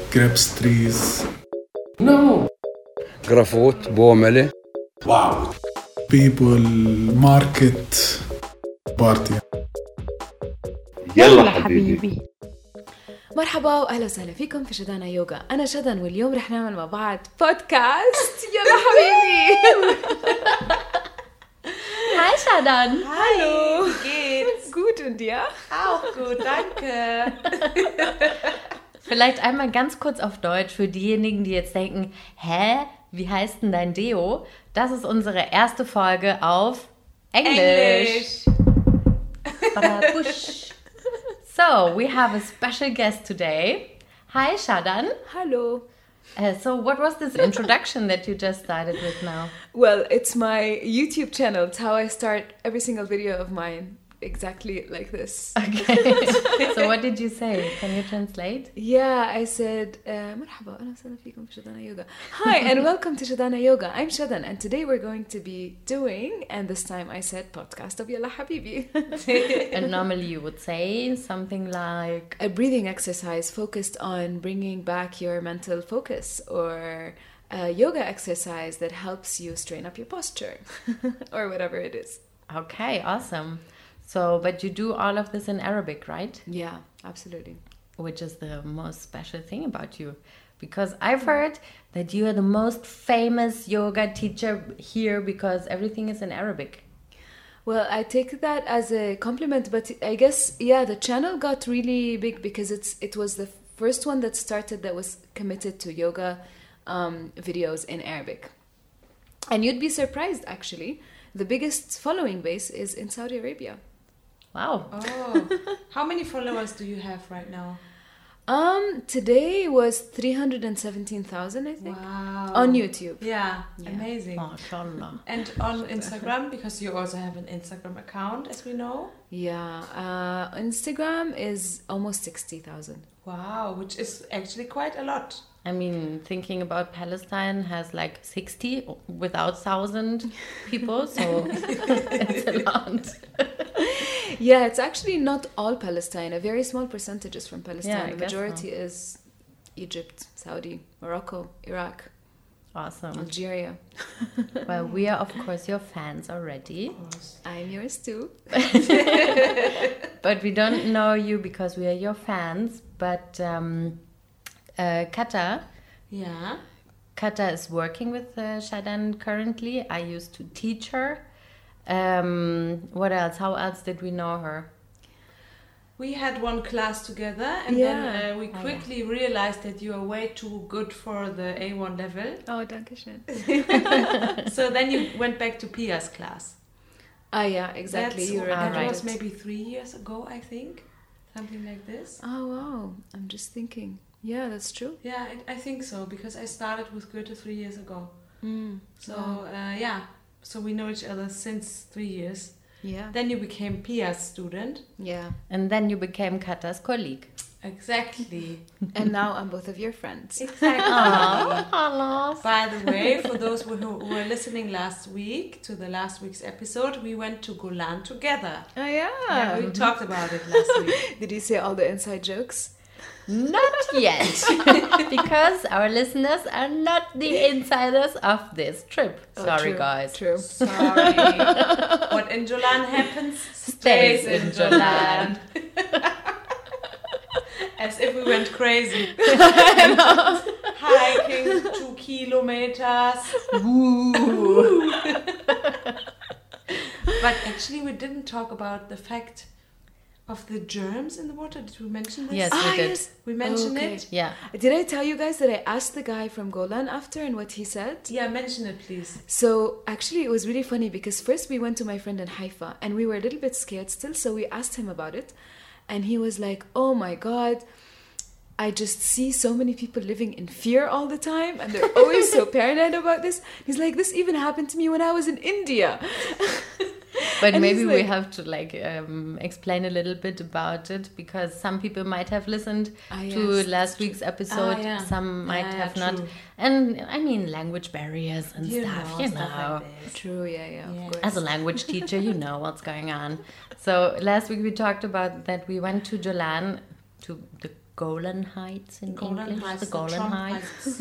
grapes trees. No. Grafot, Bomele. Wow. People, market, party. يلا حبيبي. مرحبا واهلا وسهلا فيكم في شدانا يوغا. انا شدن واليوم رح نعمل مع بعض بودكاست. يلا حبيبي. Hi Shadan. Hallo. Wie geht's? Gut und dir? Auch gut, danke. Vielleicht einmal ganz kurz auf Deutsch für diejenigen, die jetzt denken, hä, wie heißt denn dein Deo? Das ist unsere erste Folge auf Englisch. Barabusch. So, we have a special guest today. Hi Shadan. Hallo. So what was this introduction that you just started with now? Well, it's my YouTube channel. It's how I start every single video of mine. Exactly like this. Okay. So what did you say? Can you translate? Yeah, I said, مرحبا أهلا وسهلا فيكم في شدانا يوغا. Hi and welcome to Shadana Yoga. I'm Shadan and today we're going to be doing, and this time I said podcast of Yalla Habibi. And normally you would say something like... A breathing exercise focused on bringing back your mental focus, or a yoga exercise that helps you straighten up your posture or whatever it is. Okay, awesome. So, but you do all of this in Arabic, right? Yeah, absolutely. Which is the most special thing about you. Because I've heard that you are the most famous yoga teacher here because everything is in Arabic. Well, I take that as a compliment, but I guess, yeah, the channel got really big because it was the first one that started that was committed to yoga videos in Arabic. And you'd be surprised, actually. The biggest following base is in Saudi Arabia. Wow. Oh, how many followers do you have right now? Today was 317,000, I think. Wow. On YouTube. Yeah, Yeah. amazing. MashaAllah. And on Instagram, because you also have an Instagram account, as we know. Yeah. Instagram is almost 60,000. Wow, which is actually quite a lot. I mean, thinking about Palestine has like 60 without 1,000 people, so it's a lot. Yeah, it's actually not all Palestine. A very small percentage is from Palestine. Yeah, I The guess majority is Egypt, Saudi, Morocco, Iraq, Awesome. Algeria. Well, we are, of course, your fans already. I'm yours too. But we don't know you because we are your fans. But Kata is working with Shadan currently. I used to teach her. What else? How else did we know her? We had one class together, and then we quickly realized that you are way too good for the A1 level. Oh, danke schön. So then you went back to Pia's class. Ah, yeah, exactly. That's, You remember that was it. maybe 3 years ago, I think. Something like this. Oh, wow. I'm just thinking. Yeah, that's true. Yeah, I think so, because I started with Goethe 3 years ago. So, so we know each other since 3 years. Yeah. Then you became Pia's student. Yeah. And then you became Kata's colleague. Exactly. And now I'm both of your friends. Exactly. Hello. By the way, for those who were listening last week to the last week's episode, we went to Golan together. Oh, yeah. Yeah, we talked about it last week. Did you say all the inside jokes? Not yet. Because our listeners are not the insiders of this trip. Oh, Sorry, true, guys. True. Sorry. What in Jolan happens stays in Jolan. As if we went crazy. Hiking 2 kilometers. Woo. But actually we didn't talk about the fact of the germs in the water. Did we mention this? Yes, we did. Yes. We mentioned Okay. it? Yeah. Did I tell you guys that I asked the guy from Golan after and what he said? Yeah, mention it, please. So actually it was really funny because first we went to my friend in Haifa and we were a little bit scared still, so we asked him about it and he was like, oh my God, I just see so many people living in fear all the time and they're always so paranoid about this. He's like, this even happened to me when I was in India. But And maybe he's we like- have to explain a little bit about it because some people might have listened to yes, last week's episode. yeah. Some might Yeah, have not. true. And I mean, language barriers and You stuff, know, you stuff know. like this. True, yeah, Yeah. of course. As a language teacher, you know what's going on. So last week we talked about that we went to Jolan to the Golan Heights in English. The Golan Trump Heights.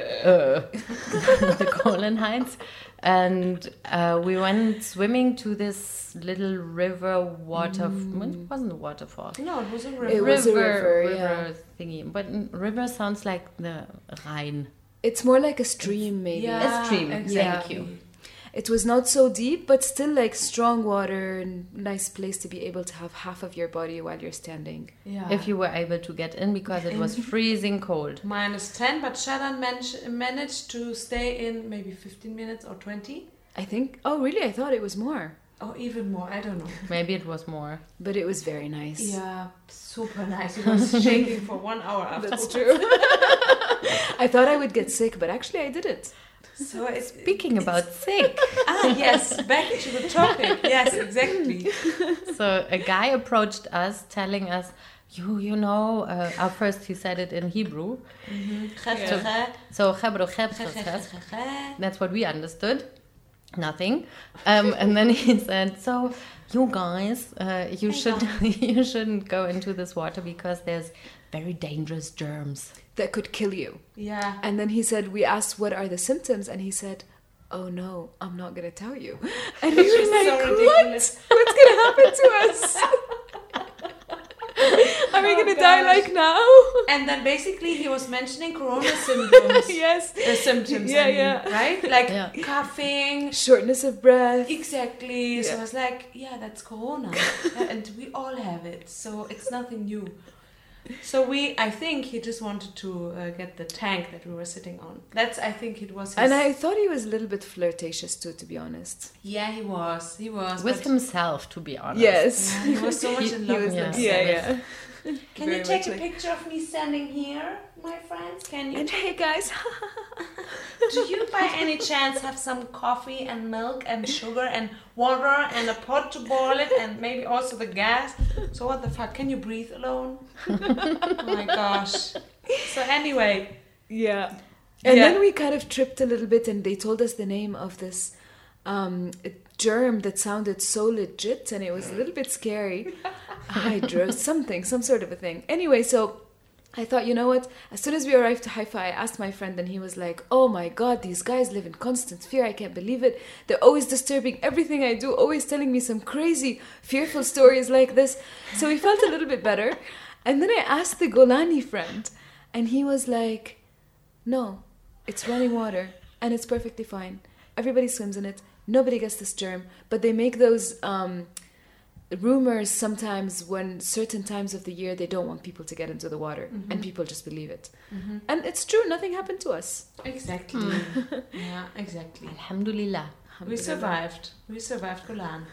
The Golan Heights. And we went swimming to this little river water. It wasn't a waterfall. No, it was a river. It was a river, thingy. But river sounds like the Rhine. It's more like a stream, maybe. Yeah, A stream, exactly. thank you. It was not so deep, but still like strong water and nice place to be able to have half of your body while you're standing. Yeah. If you were able to get in, because it was freezing cold. -10, but Shadan managed to stay in maybe 15 minutes or 20. I think. Oh, really? I thought it was more, Or even more, I don't know. Maybe it was more. but it was very nice. Yeah, super nice. He was shaking for 1 hour after. That's true. I thought I would get sick, but actually I didn't. So it's Speaking about sick. yes, back to the topic. Yes, exactly. So a guy approached us telling us, you know, at first he said it in Hebrew. So that's what we understood. Nothing. And then he said, so you guys, you shouldn't go into this water because there's very dangerous germs. That could kill you. Yeah. And then he said, we asked, what are the symptoms? And he said, oh no, I'm not going to tell you. And we were like, so what? ridiculous. What's going to happen to us? Are we going to die like now? And then basically he was mentioning corona symptoms. Yes. Symptoms, Yeah, I mean, yeah. right? Like Yeah. coughing. Shortness of breath. Exactly. So Yeah. I was like, yeah, that's corona. And we all have it. So it's nothing new. So I think he just wanted to get the tank that we were sitting on. I think it was his... And I thought he was a little bit flirtatious too, to be honest. Yeah, he was. With but- himself, to be honest. Yes. Yeah, he was so much in love with yeah. himself. Yeah. Can Very you take much a like- picture of me standing here, my friends? Can you? And hey guys. Do you by any chance have some coffee and milk and sugar and water and a pot to boil it and maybe also the gas? So what the fuck? Can you breathe alone? Oh my gosh. So anyway. Yeah. And Yeah. then we kind of tripped a little bit and they told us the name of this germ that sounded so legit and it was a little bit scary. Hydro, some sort of a thing. Anyway, so I thought, you know what? As soon as we arrived to Haifa, I asked my friend and he was like, oh my God, these guys live in constant fear. I can't believe it. They're always disturbing everything I do, always telling me some crazy, fearful stories like this. So we felt a little bit better. And then I asked the Golani friend and he was like, no, it's running water and it's perfectly fine. Everybody swims in it. Nobody gets this germ. But they make those rumors sometimes when certain times of the year they don't want people to get into the water and people just believe it. And it's true, nothing happened to us. Exactly. Yeah, exactly. Alhamdulillah. We survived. We survived Golan.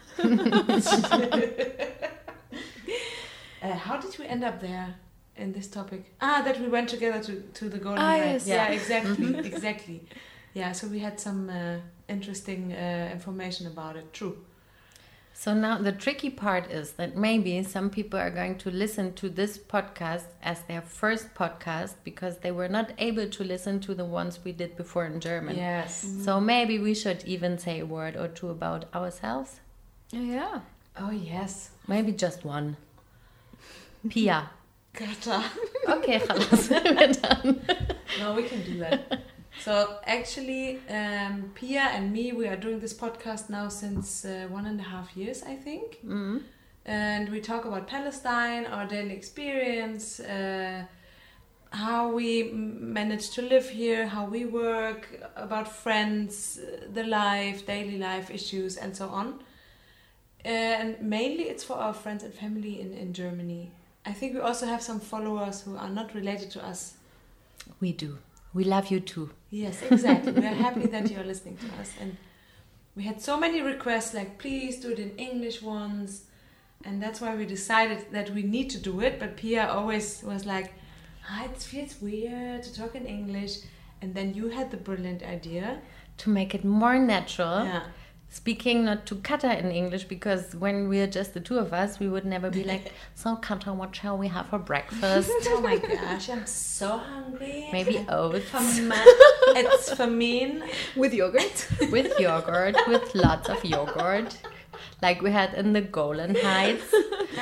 How did we end up there in this topic? That we went together to the Golden Heights. yes. Yeah, exactly. Exactly. Yeah, so we had some interesting information about it. True. So now the tricky part is that maybe some people are going to listen to this podcast as their first podcast because they were not able to listen to the ones we did before in German. Yes. So maybe we should even say a word or two about ourselves. Yeah. Oh, yes. Maybe just one. Pia. Kata. Okay, خلاص. We're done. No, we can do that. So actually, Pia and me, we are doing this podcast now since 1.5 years, I think. Mm-hmm. And we talk about Palestine, our daily experience, how we manage to live here, how we work, about friends, the life, daily life issues, and so on. And mainly it's for our friends and family in Germany. I think we also have some followers who are not related to us. We do. We love you too. Yes, exactly. We are happy that you are listening to us. And we had so many requests, like, please do it in English ones. And that's why we decided that we need to do it. But Pia always was like, it feels weird to talk in English. And then you had the brilliant idea. To make it more natural. Yeah. Speaking not to Kata in English, because when we're just the two of us, we would never be like, so Kata, what shall we have for breakfast? Oh my gosh, I'm so hungry. Maybe oats It's famine. With yogurt. with yogurt, with lots of yogurt, like we had in the Golan Heights.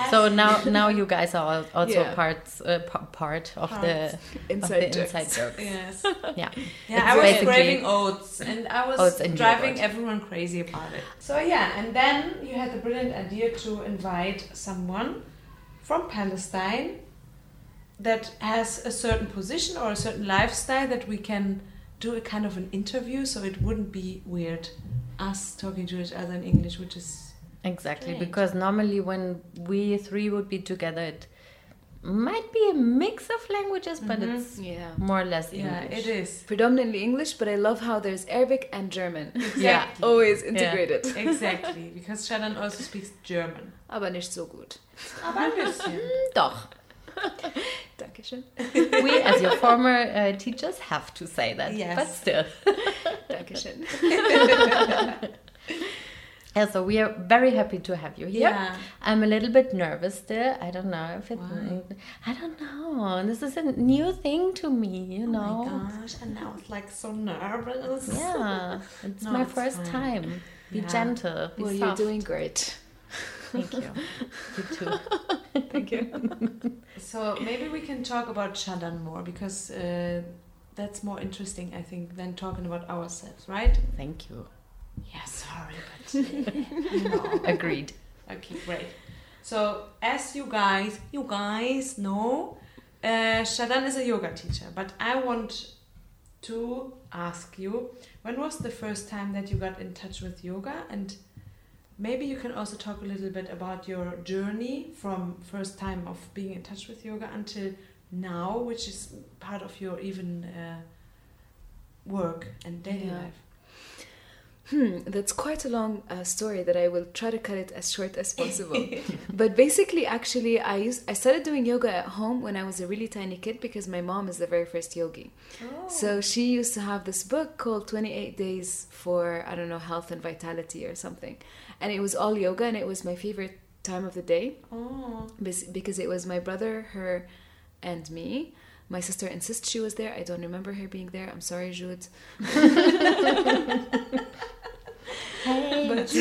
So now you guys are also Yeah. part of the Inside jokes. inside jokes. Yes. Yeah. Yeah, I was basically craving oats, and I was oats and driving yogurt. everyone crazy about it. So yeah, and then you had the brilliant idea to invite someone from Palestine that has a certain position or a certain lifestyle that we can do a kind of an interview, so it wouldn't be weird us talking to each other in English, which is Exactly, Strange. because normally when we three would be together, it might be a mix of languages, but it's Yeah. more or less yeah, English. it is. Predominantly English, but I love how there's Arabic and German. Yeah. Always integrated. Exactly, because Shadan also speaks German. Aber nicht so gut. Aber ein bisschen. Doch. Dankeschön. We, as your former teachers, have to say that. Yes. But still. Dankeschön. Yeah, so we are very happy to have you here. Yeah. I'm a little bit nervous still. I don't know if it. Why? I don't know. This is a new thing to me, you know. Oh my gosh, and now it's like so nervous. Yeah, it's No, my it's first fine. time. Be Yeah. gentle. Be Well, you're soft. doing great. Thank you. You too. Thank you. So maybe we can talk about Shadan more, because that's more interesting, I think, than talking about ourselves, right? Thank you. Yeah, sorry, but you know. Agreed. Okay, great. So as you guys know, Shadan is a yoga teacher, but I want to ask you, when was the first time that you got in touch with yoga? And maybe you can also talk a little bit about your journey from first time of being in touch with yoga until now, which is part of your even work and daily Yeah. life. That's quite a long story that I will try to cut it as short as possible. But basically, actually, I started doing yoga at home when I was a really tiny kid, because my mom is the very first yogi. So she used to have this book called 28 Days for, I don't know, Health and Vitality or something. And it was all yoga, and it was my favorite time of the day Oh. because it was my brother, her, and me. My sister insists she was there. I don't remember her being there. I'm sorry, Jude. Hey, But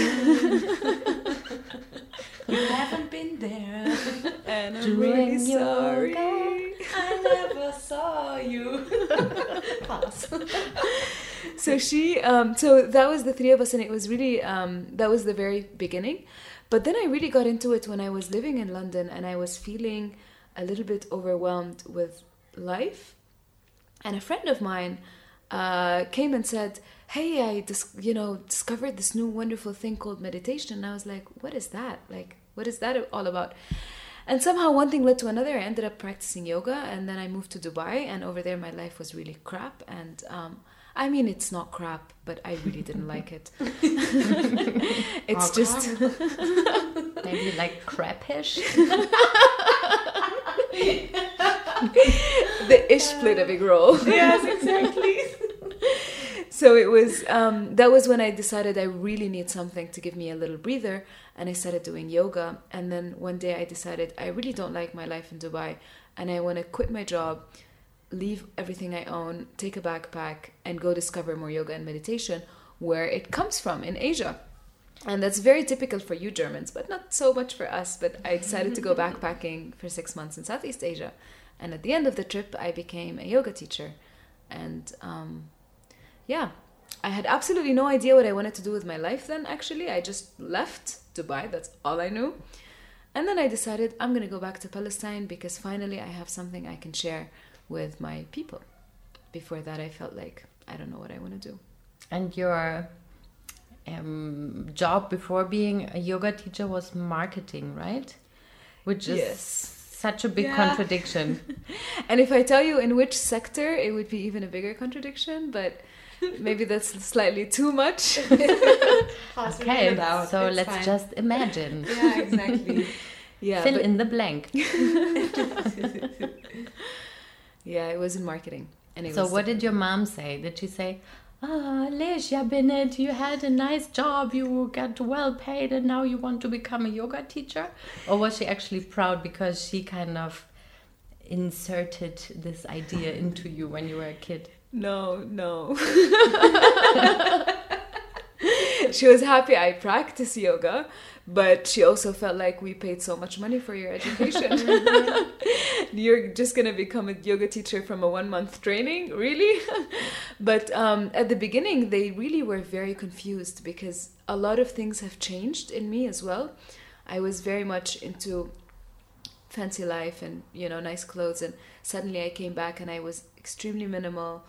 You haven't been there. and I'm Doing really sorry. yoga. I never saw you. Pass. So so that was the three of us, and it was really that was the very beginning. But then I really got into it when I was living in London, and I was feeling a little bit overwhelmed with life. And a friend of mine came and said, "Hey, I discovered this new wonderful thing called meditation." And I was like, "What is that? Like, what is that all about?" And somehow one thing led to another. I ended up practicing yoga, and then I moved to Dubai, and over there my life was really crap. And I mean, it's not crap, but I really didn't like it. It's just maybe like crappish. the ish played a big role. Yes, exactly. So it was that was when I decided I really need something to give me a little breather, and I started doing yoga. And then one day I decided I really don't like my life in Dubai, and I want to quit my job, leave everything I own, take a backpack, and go discover more yoga and meditation where it comes from, in Asia. And that's very typical for you Germans, but not so much for us. But I decided to go backpacking for 6 months in Southeast Asia. And at the end of the trip, I became a yoga teacher. And yeah, I had absolutely no idea what I wanted to do with my life then, actually. I just left Dubai. That's all I knew. And then I decided I'm going to go back to Palestine, because finally I have something I can share with my people. Before that, I felt like I don't know what I want to do. And your job before being a yoga teacher was marketing, right? Which is Yes. such a big Yeah. contradiction. And if I tell you in which sector, it would be even a bigger contradiction, but maybe that's slightly too much. Okay, so let's just imagine. Yeah, exactly. Yeah, Fill but- in the blank. yeah, it was in marketing. And it So was what did your mom say? Did she say, Lesia Bennett, you had a nice job, you got well paid, and now you want to become a yoga teacher? Or was she actually proud because she kind of inserted this idea into you when you were a kid? No. she was happy I practice yoga, but she also felt like we paid so much money for your education. You're just going to become a yoga teacher from a 1-month training? Really? But at the beginning, they really were very confused because a lot of things have changed in me as well. I was very much into fancy life and, nice clothes. And suddenly I came back and I was extremely minimal.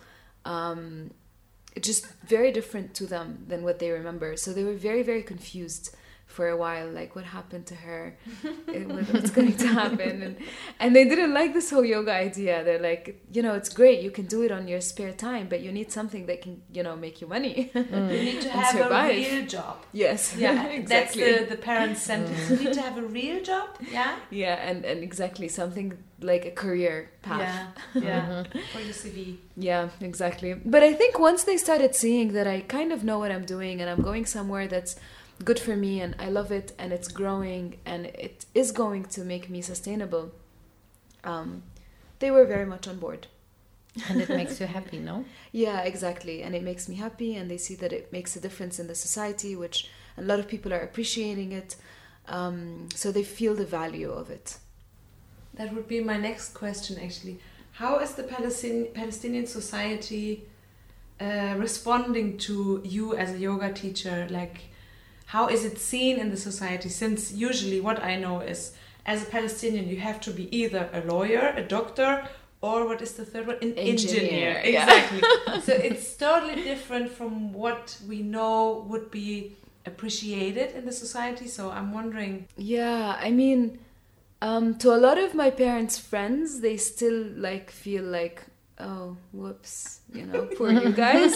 Just very different to them than what they remember. So they were very, very confused for a while, like what happened to her, what's going to happen, and they didn't like this whole yoga idea. They're like, it's great, you can do it on your spare time, but you need something that can, make you money. You need to have survive. a real job. Yes, yeah, exactly. That's the parents' sentence. You need to have a real job. Yeah, and exactly, something like a career path. Yeah, for your CV. Yeah, exactly. But I think once they started seeing that I kind of know what I'm doing and I'm going somewhere that's good for me and I love it and it's growing and it is going to make me sustainable, they were very much on board. And it makes you happy, no? Yeah, exactly. And it makes me happy and they see that it makes a difference in the society, which a lot of people are appreciating it. So they feel the value of it. That would be my next question, actually. How is the Palestinian society responding to you as a yoga teacher? Like, how is it seen in the society? Since usually what I know is, as a Palestinian, you have to be either a lawyer, a doctor, or what is the third one? An engineer. Exactly. So it's totally different from what we know would be appreciated in the society. So I'm wondering. Yeah, I mean, to a lot of my parents' friends, they still feel like, oh, whoops, poor you guys.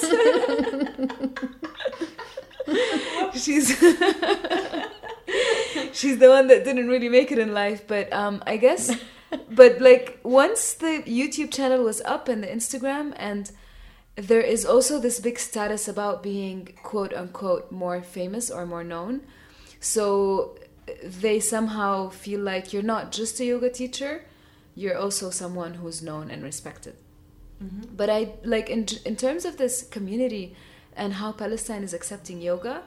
She's the one that didn't really make it in life, but I guess, but once the YouTube channel was up and the Instagram, and there is also this big status about being quote unquote more famous or more known, so they somehow feel like you're not just a yoga teacher, you're also someone who's known and respected. Mm-hmm. But I in terms of this community and how Palestine is accepting yoga,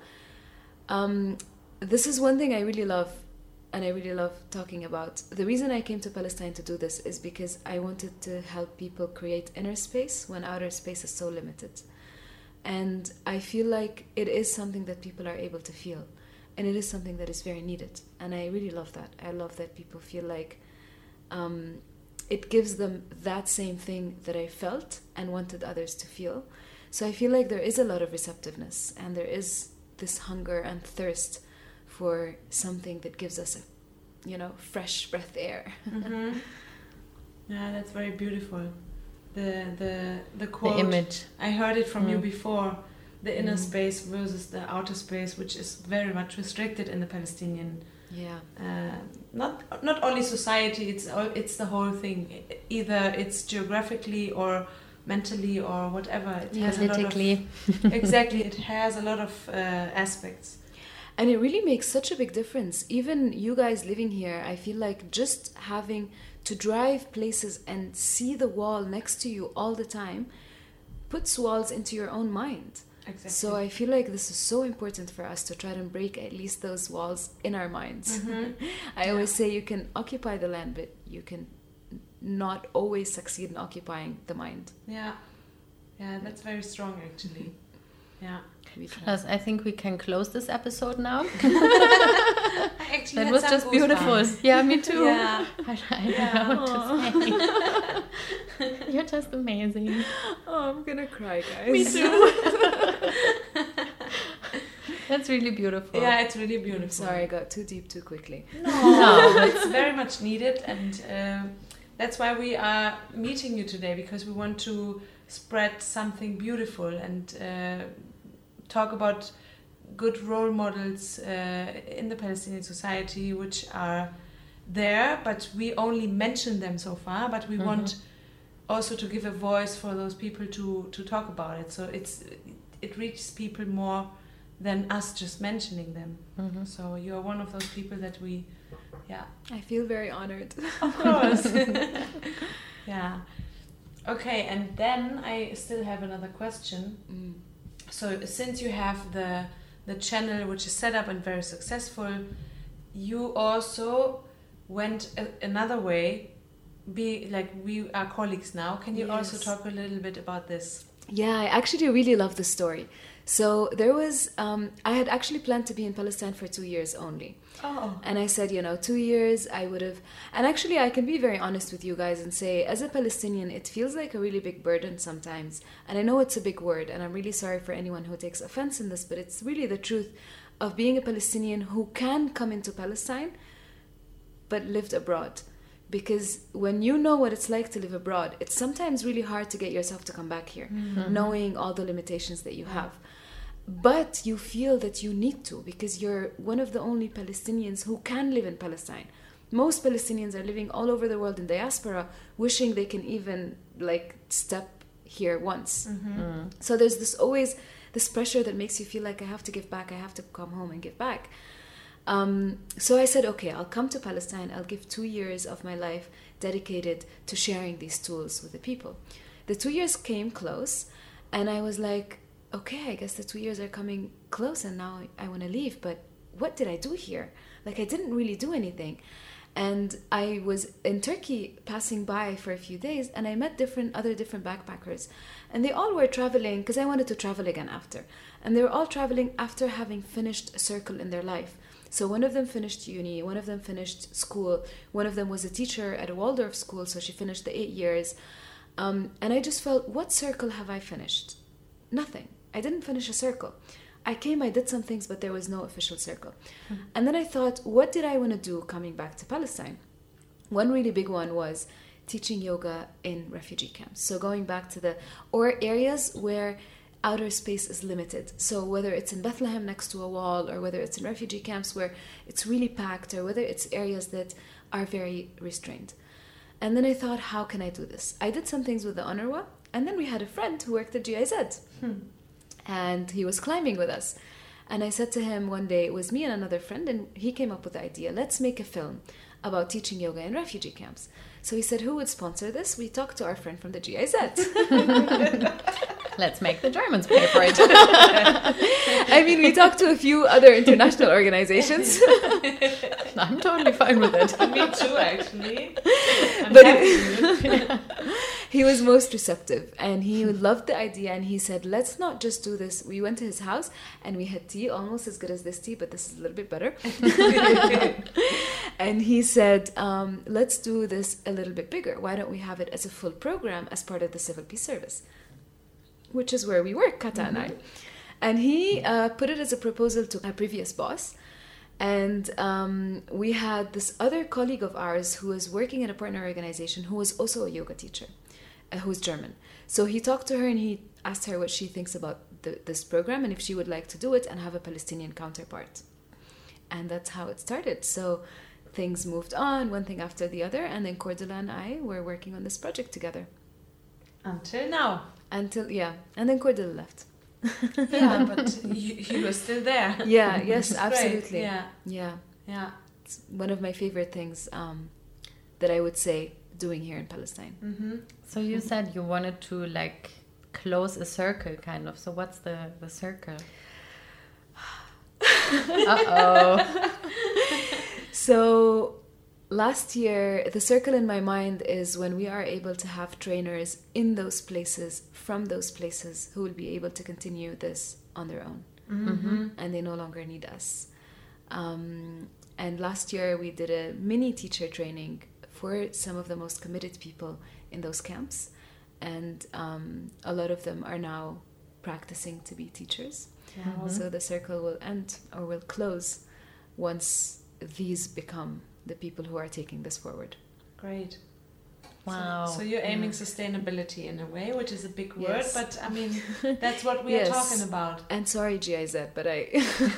this is one thing I really love, and I really love talking about. The reason I came to Palestine to do this is because I wanted to help people create inner space when outer space is so limited. And I feel like it is something that people are able to feel, and it is something that is very needed. And I really love that. I love that people feel like it gives them that same thing that I felt and wanted others to feel. So I feel like there is a lot of receptiveness and there is this hunger and thirst for something that gives us a, fresh breath air. Mm-hmm. Yeah, that's very beautiful. The quote. The image. I heard it from you before. The inner space versus the outer space, which is very much restricted in the Palestinian. Yeah. Not only society. It's the whole thing. Either it's geographically or mentally or whatever. It has politically. Exactly. It has a lot of aspects. And it really makes such a big difference. Even you guys living here, I feel like just having to drive places and see the wall next to you all the time puts walls into your own mind. Exactly. So I feel like this is so important for us to try to break at least those walls in our minds. Mm-hmm. I always say you can occupy the land, but you can not always succeed in occupying the mind. Yeah, that's very strong actually. Yeah. Plus, I think we can close this episode now. Actually, that was just beautiful. Yeah, me too. Yeah. I don't know what to say. You're just amazing. Oh, I'm gonna cry, guys. Me too. That's really beautiful. Yeah, it's really beautiful. I'm sorry, I got too deep too quickly. No, it's very much needed, and that's why we are meeting you today, because we want to spread something beautiful and talk about good role models in the Palestinian society, which are there, but we only mention them so far, but we want also to give a voice for those people to talk about it, so it reaches people more than us just mentioning them. So you are one of those people that we I feel very honored. Of course. Yeah. Okay, and then I still have another question. So since you have the the channel, which is set up and very successful, you also went another way. We are colleagues now. Can you also talk a little bit about this? Yeah, I actually really love the story. So there was, I had actually planned to be in Palestine for 2 years only. Oh. And I said, 2 years, I would have... And actually, I can be very honest with you guys and say, as a Palestinian, it feels like a really big burden sometimes. And I know it's a big word, and I'm really sorry for anyone who takes offense in this, but it's really the truth of being a Palestinian who can come into Palestine, but lived abroad. Because when you know what it's like to live abroad, it's sometimes really hard to get yourself to come back here, knowing all the limitations that you have. But you feel that you need to, because you're one of the only Palestinians who can live in Palestine. Most Palestinians are living all over the world in diaspora, wishing they can even step here once. So there's always this pressure that makes you feel like I have to give back, I have to come home and give back. So I said, okay, I'll come to Palestine. I'll give 2 years of my life dedicated to sharing these tools with the people. The 2 years came close, and I was like, okay, I guess the 2 years are coming close, and now I want to leave. But what did I do here? I didn't really do anything. And I was in Turkey passing by for a few days, and I met other different backpackers. And they all were traveling, because I wanted to travel again after. And they were all traveling after having finished a circle in their life. So one of them finished uni, one of them finished school, one of them was a teacher at a Waldorf school, so she finished the 8 years. And I just felt, what circle have I finished? Nothing. I didn't finish a circle. I came, I did some things, but there was no official circle. And then I thought, what did I want to do coming back to Palestine? One really big one was teaching yoga in refugee camps. So going back to or areas where outer space is limited. So whether it's in Bethlehem next to a wall, or whether it's in refugee camps where it's really packed, or whether it's areas that are very restrained. And then I thought, how can I do this? I did some things with the UNRWA, and then we had a friend who worked at GIZ. And he was climbing with us. And I said to him one day, it was me and another friend, and he came up with the idea, let's make a film about teaching yoga in refugee camps. So he said, who would sponsor this? We talked to our friend from the GIZ. Let's make the Germans pay for it. I mean, we talked to a few other international organizations. I'm totally fine with it. Me too, actually. But he was most receptive, and he loved the idea, and he said, let's not just do this. We went to his house and we had tea, almost as good as this tea, but this is a little bit better. And he said, let's do this a little bit bigger. Why don't we have it as a full program as part of the Civil Peace Service, which is where we work, Kata and I. And he put it as a proposal to a previous boss. And we had this other colleague of ours who was working at a partner organization who was also a yoga teacher, who's German. So he talked to her and he asked her what she thinks about this program and if she would like to do it and have a Palestinian counterpart. And that's how it started. So things moved on, one thing after the other, and then Cordula and I were working on this project together. Until now. And then Cordula left. Yeah, but you were still there. Yeah, yes, absolutely. Yeah. It's one of my favorite things that I would say doing here in Palestine. Mm-hmm. So you said you wanted to close a circle, kind of. So what's the circle? Uh-oh. So last year, the circle in my mind is when we are able to have trainers in those places, from those places, who will be able to continue this on their own. Mm-hmm. And they no longer need us. And last year, we did a mini teacher training for some of the most committed people in those camps. And a lot of them are now practicing to be teachers. Yeah. So the circle will end or will close once these become the people who are taking this forward. Great. Wow. So you're aiming sustainability in a way, which is a big word, Yes. but I mean, that's what we Yes. are talking about. And sorry, GIZ, but I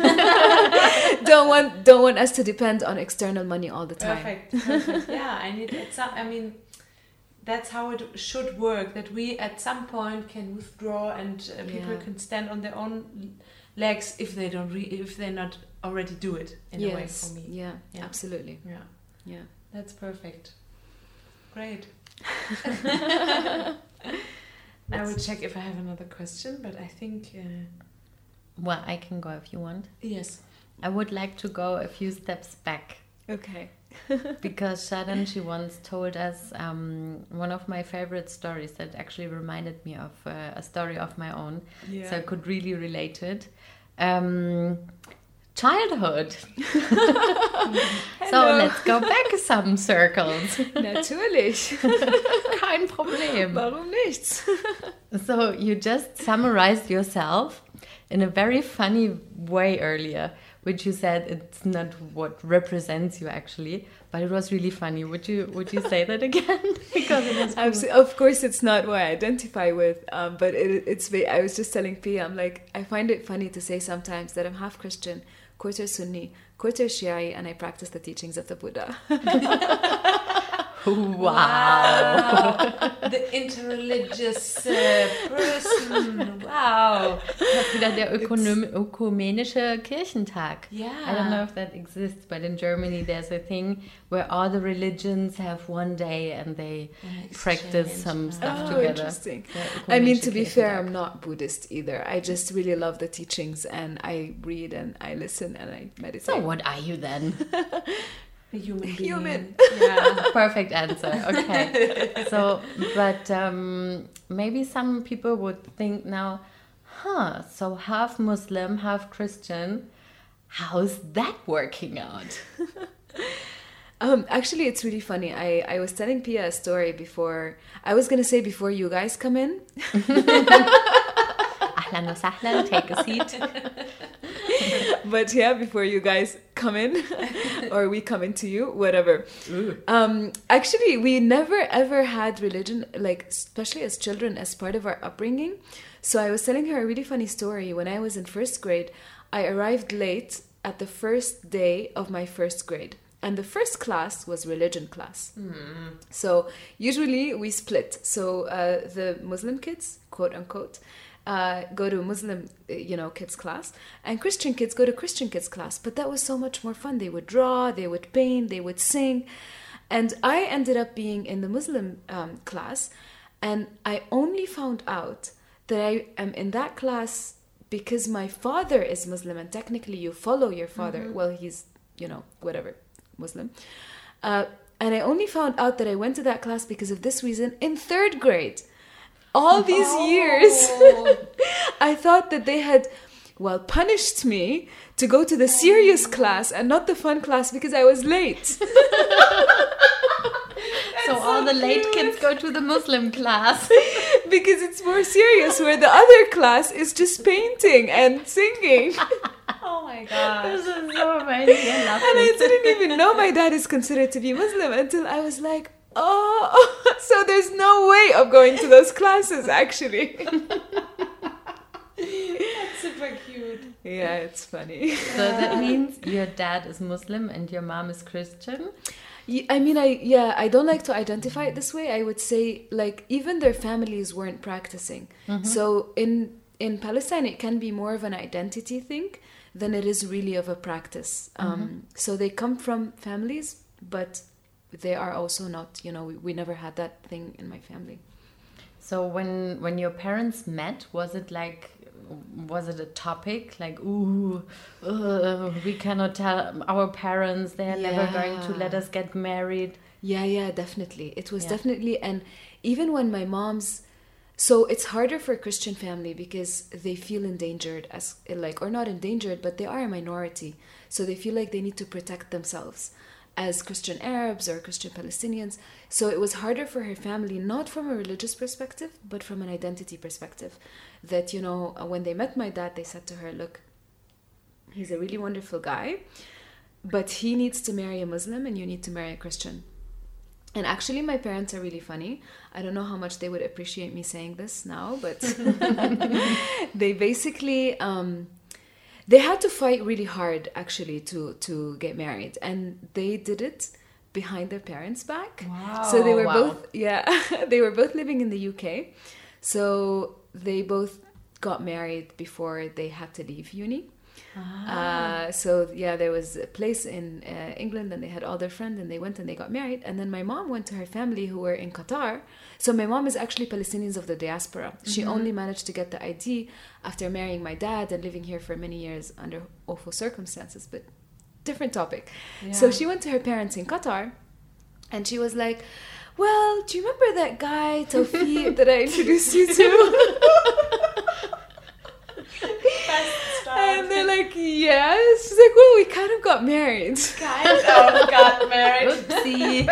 don't want us to depend on external money all the time. Perfect. Yeah, I mean, that's how it should work, that we at some point can withdraw and people can stand on their own legs if they don't if they not already do it in a way for me. Yeah, Yeah. absolutely. Yeah, that's perfect. Great. I will check if I have another question, but I think Well, I can go if you want. Yes. I would like to go a few steps back. Okay. Because Sharon, she once told us one of my favorite stories that actually reminded me of a story of my own. Yeah. So I could really relate to it. Childhood. So let's go back some circles. Natürlich. Kein Problem. Warum nichts? So you just summarized yourself in a very funny way earlier, which you said it's not what represents you actually, but it was really funny. Would you say that again? Because it was cool. Of course, it's not what I identify with, but I was just telling Pia, I'm like, I find it funny to say sometimes that I'm half Christian, quarter Sunni, quarter Shi'i, and I practice the teachings of the Buddha. Wow. The interreligious person. Wow. Das ist wieder der ökumenische Kirchentag. Yeah. I don't know if that exists, but in Germany there's a thing where all the religions have one day and they practice some stuff Oh, together. interesting. Der I mean, ökumenische to be fair, Kirchentag. I'm not Buddhist either. I just really love the teachings, and I read and I listen and I meditate. So what are you then? A human being. Human. Yeah. Perfect answer. Okay. So, but maybe some people would think now, so half Muslim, half Christian. How's that working out? Actually, it's really funny. I was telling Pia a story before. I was gonna say before you guys come in. Ahlan wa sahlan, take a seat. But yeah, before you guys come in, or we come into you, whatever. Actually, we never ever had religion, like especially as children, as part of our upbringing. So I was telling her a really funny story. When I was in first grade, I arrived late at the first day of my first grade. And the first class was religion class. So usually we split. So the Muslim kids, quote unquote, go to Muslim, kids class, and Christian kids go to Christian kids class. But that was so much more fun. They would draw, they would paint, they would sing. And I ended up being in the Muslim class, and I only found out that I am in that class because my father is Muslim, and technically you follow your father. Well, he's, whatever, Muslim. And I only found out that I went to that class because of this reason in third grade. All these years, I thought that they had, punished me to go to the serious class and not the fun class because I was late. So all the late kids go to the Muslim class. Because it's more serious, where the other class is just painting and singing. Oh my gosh. This is so amazing. I love And I it. didn't even know my dad is considered to be Muslim until I was like, oh, so there's no way of going to those classes, actually. That's super cute. Yeah, it's funny. So that means your dad is Muslim and your mom is Christian. I don't like to identify it this way. I would say, even their families weren't practicing. So in Palestine, it can be more of an identity thing than it is really of a practice. So they come from families, but they are also not, we never had that thing in my family. So when your parents met, was it a topic like, we cannot tell our parents, they're never going to let us get married? Yeah, definitely. It was definitely, and even when my mom's, so it's harder for a Christian family because they feel endangered or not endangered, but they are a minority. So they feel like they need to protect themselves as Christian Arabs or Christian Palestinians. So it was harder for her family, not from a religious perspective, but from an identity perspective. That, when they met my dad, they said to her, look, he's a really wonderful guy, but he needs to marry a Muslim and you need to marry a Christian. And actually, my parents are really funny. I don't know how much they would appreciate me saying this now, but they basically... they had to fight really hard, actually, to get married. And they did it behind their parents' back. Wow. So they were both, they were both living in the UK. So they both got married before they had to leave uni. So yeah, there was a place in England, and they had all their friends, and they went and they got married. And then my mom went to her family who were in Qatar. So my mom is actually Palestinians of the diaspora. She only managed to get the ID after marrying my dad and living here for many years under awful circumstances, but different topic. Yeah. So she went to her parents in Qatar, and she was like, well, do you remember that guy, Tawfiq, that I introduced you to? And they're like, yes. She's like, well, we kind of got married. got married. Oopsie.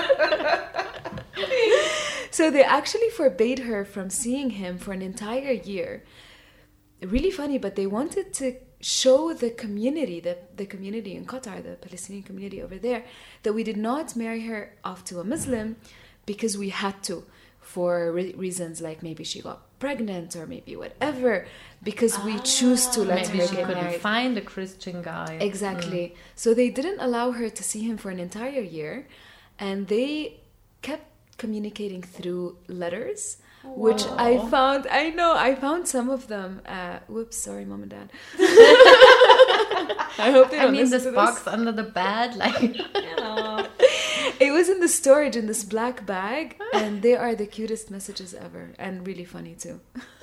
So they actually forbade her from seeing him for an entire year. Really funny, but they wanted to show the community, the community in Qatar, the Palestinian community over there, that we did not marry her off to a Muslim because we had to, for reasons like maybe she got pregnant or maybe whatever, because we choose to let Maybe her she get couldn't married. find a Christian guy. Exactly. So they didn't allow her to see him for an entire year, and they kept communicating through letters, which I found some of them. Whoops, sorry, mom and dad. I hope they don't I mean, listen this to box under the bed, like... It was in the storage in this black bag, and they are the cutest messages ever, and really funny too.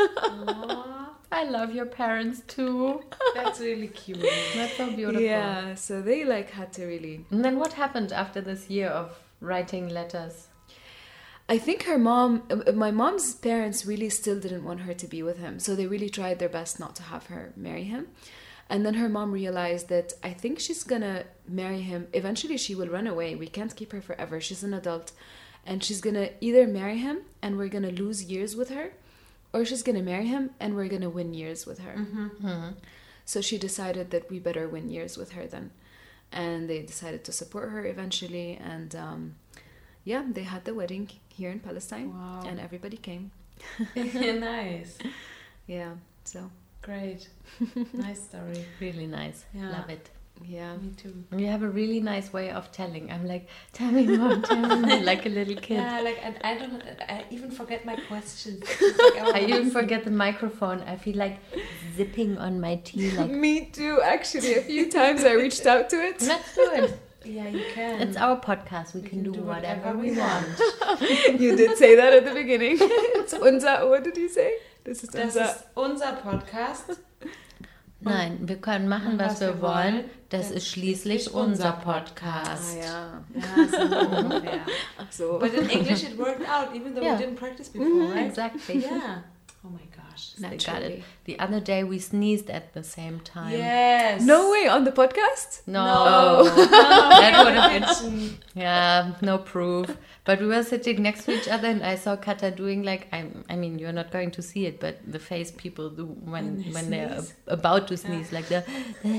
I love your parents too. That's really cute. That's so beautiful. Yeah, so they like had to really. And then what happened after this year of writing letters? I think my mom's parents really still didn't want her to be with him, so they really tried their best not to have her marry him. And then her mom realized that I think she's gonna marry him. Eventually she will run away. We can't keep her forever. She's an adult. And she's gonna either marry him and we're gonna lose years with her, or she's gonna marry him and we're gonna win years with her. So she decided that we better win years with her then. And they decided to support her eventually. And yeah, they had the wedding here in Palestine. Wow. And everybody came. Nice. Yeah, so Great. Nice story. Really nice. Yeah. Love it. yeah. Me too. You have a really nice way of telling. I'm like, tell me more, like a little kid. Yeah, like, and I even forget my questions. Like, I even forget the microphone. I feel like zipping on my tea. Like, Me too, actually. A few times I reached out to it. let's do it. Yeah, you can. It's our podcast. We can do whatever we want. You did say that at the beginning. It's unser, what did you say? This is Das unser. ist unser Podcast. Nein, wir können machen, was wir wollen. Das ist schließlich unser Podcast. Ja. Yeah, so ungefähr. Ach so. But in English it worked out, even though Yeah. we didn't practice before, right? Exactly. Yeah. Oh my gosh. I got Naturally. it. The other day we sneezed at the same time. Yes. No way, on the podcast? No. No. That would have been... Mention. Yeah, no proof. But we were sitting next to each other and I saw Kata doing like, I mean, you're not going to see it, but the face people do when they're sneeze. about to sneeze, like the...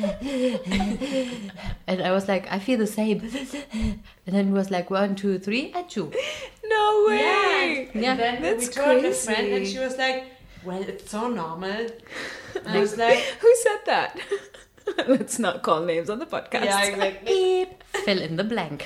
And I was like, I feel the same. And then it was like 1, 2, 3, achoo. No way! Yeah. Yeah, And then that's we told a crazy. friend and she was like, well, it's so normal. And I was like, Who said that? Let's not call names on the podcast. yeah, exactly. Fill in the blank.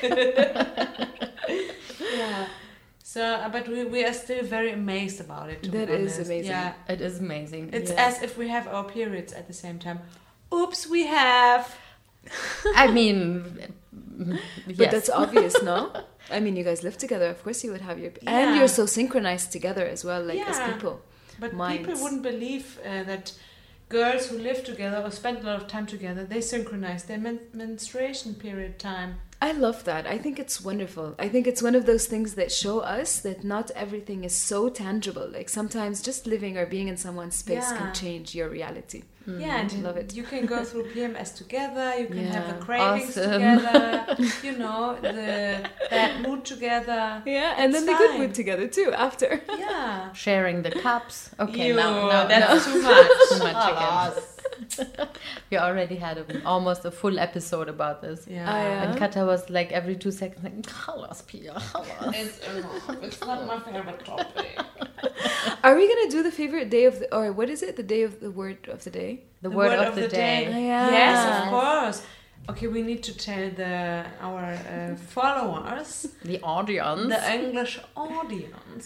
Yeah. So, but we are still very amazed about it. To That be is honest. amazing. Yeah. It is amazing. It's Yeah. as if we have our periods at the same time. Oops, we have. I mean, But yes. that's obvious, no? I mean, you guys live together. Of course you would have your... Yeah. And you're so synchronized together as well, like as Yeah. people. But Minds. people wouldn't believe that girls who live together or spend a lot of time together, they synchronize their menstruation period time. I love that. I think it's wonderful. I think it's one of those things that show us that not everything is so tangible. Like sometimes just living or being in someone's space Yeah. can change your reality. Yeah, and Love it. you can go through PMS together, you can have the Yeah. cravings Awesome. together, you know, the bad mood together. Yeah, and It's then the good fine. mood together too after. Yeah. Sharing the cups. Okay, Ew, now that's too much. Too much again. Alas. We already had almost a full episode about this. Yeah. Yeah. And Kata was like every 2 seconds like, Halas, Pia, halas. It's not my favorite topic. Are we gonna do the favorite day of the, or what is it? The day of the word of the day? The word of the day. Yeah. Yes, of course. Okay, we need to tell our followers, The audience. the English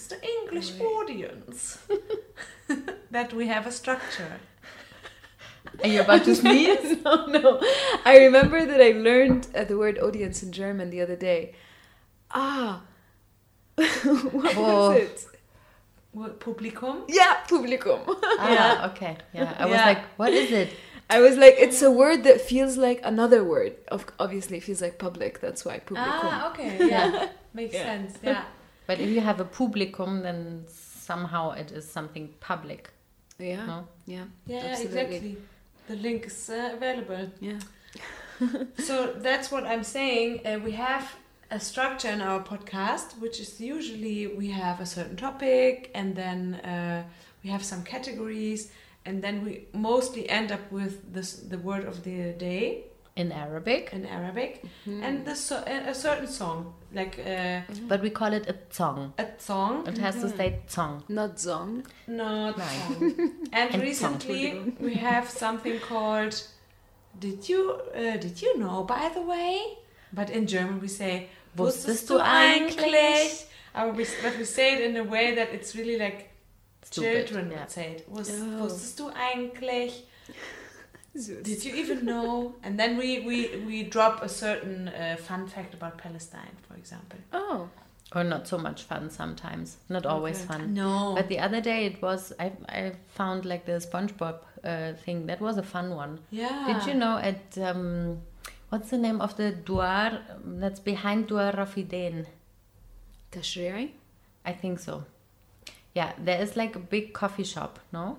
audience, that we have a structure. Are you about to sneeze? No. I remember that I learned the word audience in German the other day. What was it? What, Publikum? Yeah, Publikum. Okay. Yeah. I was like, what is it? I was like, it's a word that feels like another word. Obviously, it feels like public. That's why Publikum. Okay. Yeah. Makes sense. Yeah. But if you have a publicum, then somehow it is something public. Yeah. No? Yeah. Yeah, Absolutely. exactly. The link is available. Yeah. So that's what I'm saying. We have a structure in our podcast, which is usually we have a certain topic, and then we have some categories, and then we mostly end up with the word of the day In Arabic. in Arabic, and a certain song, like But we call it a song. a song. It has to say song. Not Zong. Not Nein. song. And And recently we have something called Did you know, by the way? But in German we say Wusstest du eigentlich? But we say it in a way that it's really like Stupid, children yeah. would say it. Oh. Wusstest du eigentlich? Did you even know? And then we drop a certain fun fact about Palestine, for example. Oh. Or not so much fun sometimes. Not always fun. No. But the other day it was, I found like the SpongeBob thing. That was a fun one. Yeah. Did you know at, what's the name of the Duar that's behind Duar Rafidin? Tashri'i? I think so. Yeah, there is like a big coffee shop, no?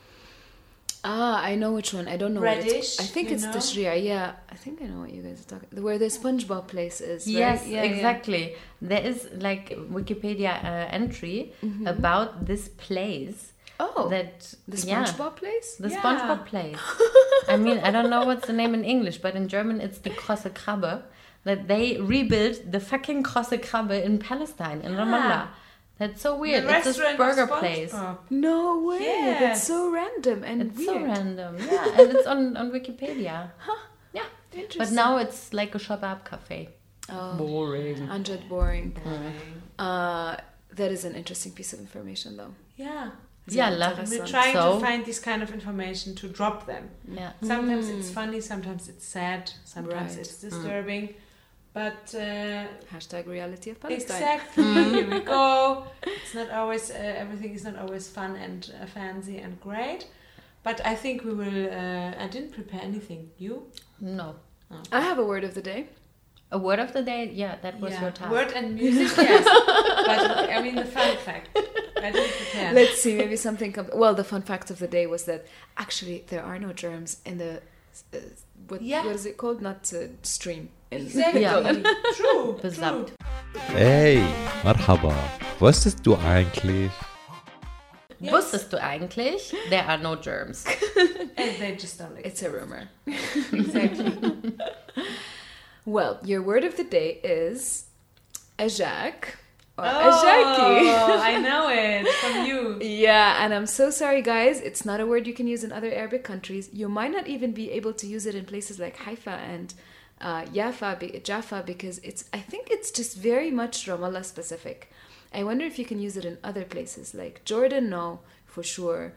I know which one. I don't know what Reddish, it's. I think you it's know? Tashri'i. Yeah, I think I know what you guys are talking. Where the SpongeBob place is. Right? Yes, Yeah, exactly. There is like Wikipedia entry about this place. Oh, That the yeah, SpongeBob place. the Yeah. SpongeBob place. I mean, I don't know what's the name in English, but in German it's die Krosse Krabbe. That they rebuilt the fucking Krosse Krabbe in Palestine, in Ramallah. That's so weird. The It's this restaurant burger of place. SpongeBob. No way. Yes. That's so random and It's weird. so random. Yeah, and it's on Wikipedia. Yeah. Interesting. But now it's like a shabab cafe. Oh, Boring. 100 boring. That is an interesting piece of information, though. Yeah. Yeah, We're trying So- to find this kind of information to drop them. Yeah. Sometimes it's funny, sometimes it's sad, sometimes Right. it's disturbing. But Hashtag reality of Palestine. exactly, here we go. It's not always, everything is not always fun and fancy and great. But I think we will, I didn't prepare anything. You? No. I have a word of the day. A word of the day? Yeah, that was your task. Word and music, yes. But I mean the fun fact. I didn't prepare. Let's see, maybe something comes. Well, the fun fact of the day was that actually there are no germs in the. What is it called? Not stream. Exactly. Yeah. True. Besamt. Hey, Marhaba. Wusstest du eigentlich? Yes. Wusstest du eigentlich? There are no germs. And they just don't It's a rumor. Exactly. Well, your word of the day is ajak or ajaki. Oh, I know it from you. Yeah, and I'm so sorry, guys. It's not a word you can use in other Arabic countries. You might not even be able to use it in places like Haifa and Jaffa because I think it's just very much Ramallah specific. I wonder if you can use it in other places like Jordan. No, for sure.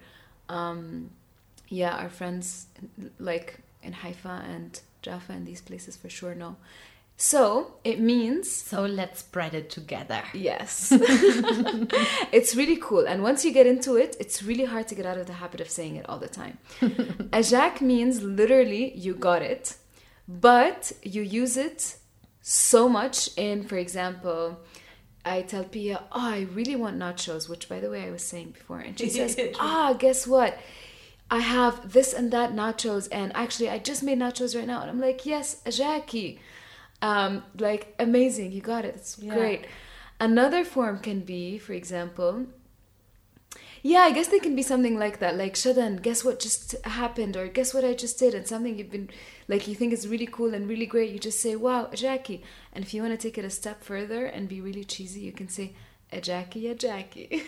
Our friends like in Haifa and Jaffa and these places for sure. No. So it means So let's spread it together. yes. It's really cool. And once you get into it, it's really hard to get out of the habit of saying it all the time. Ajak means literally you got it, but you use it so much in, for example, I tell Pia, I really want nachos, which by the way I was saying before. And she says, guess what? I have this and that nachos, and actually I just made nachos right now. And I'm like, yes, ajaki. Like, amazing, you got it. It's great. Another form can be, for example, I guess they can be something like that, like Shadan, guess what just happened, or guess what I just did, and something you've been, like, you think is really cool and really great, you just say, wow, Jackie. And if you want to take it a step further and be really cheesy, you can say, Jackie, Jackie.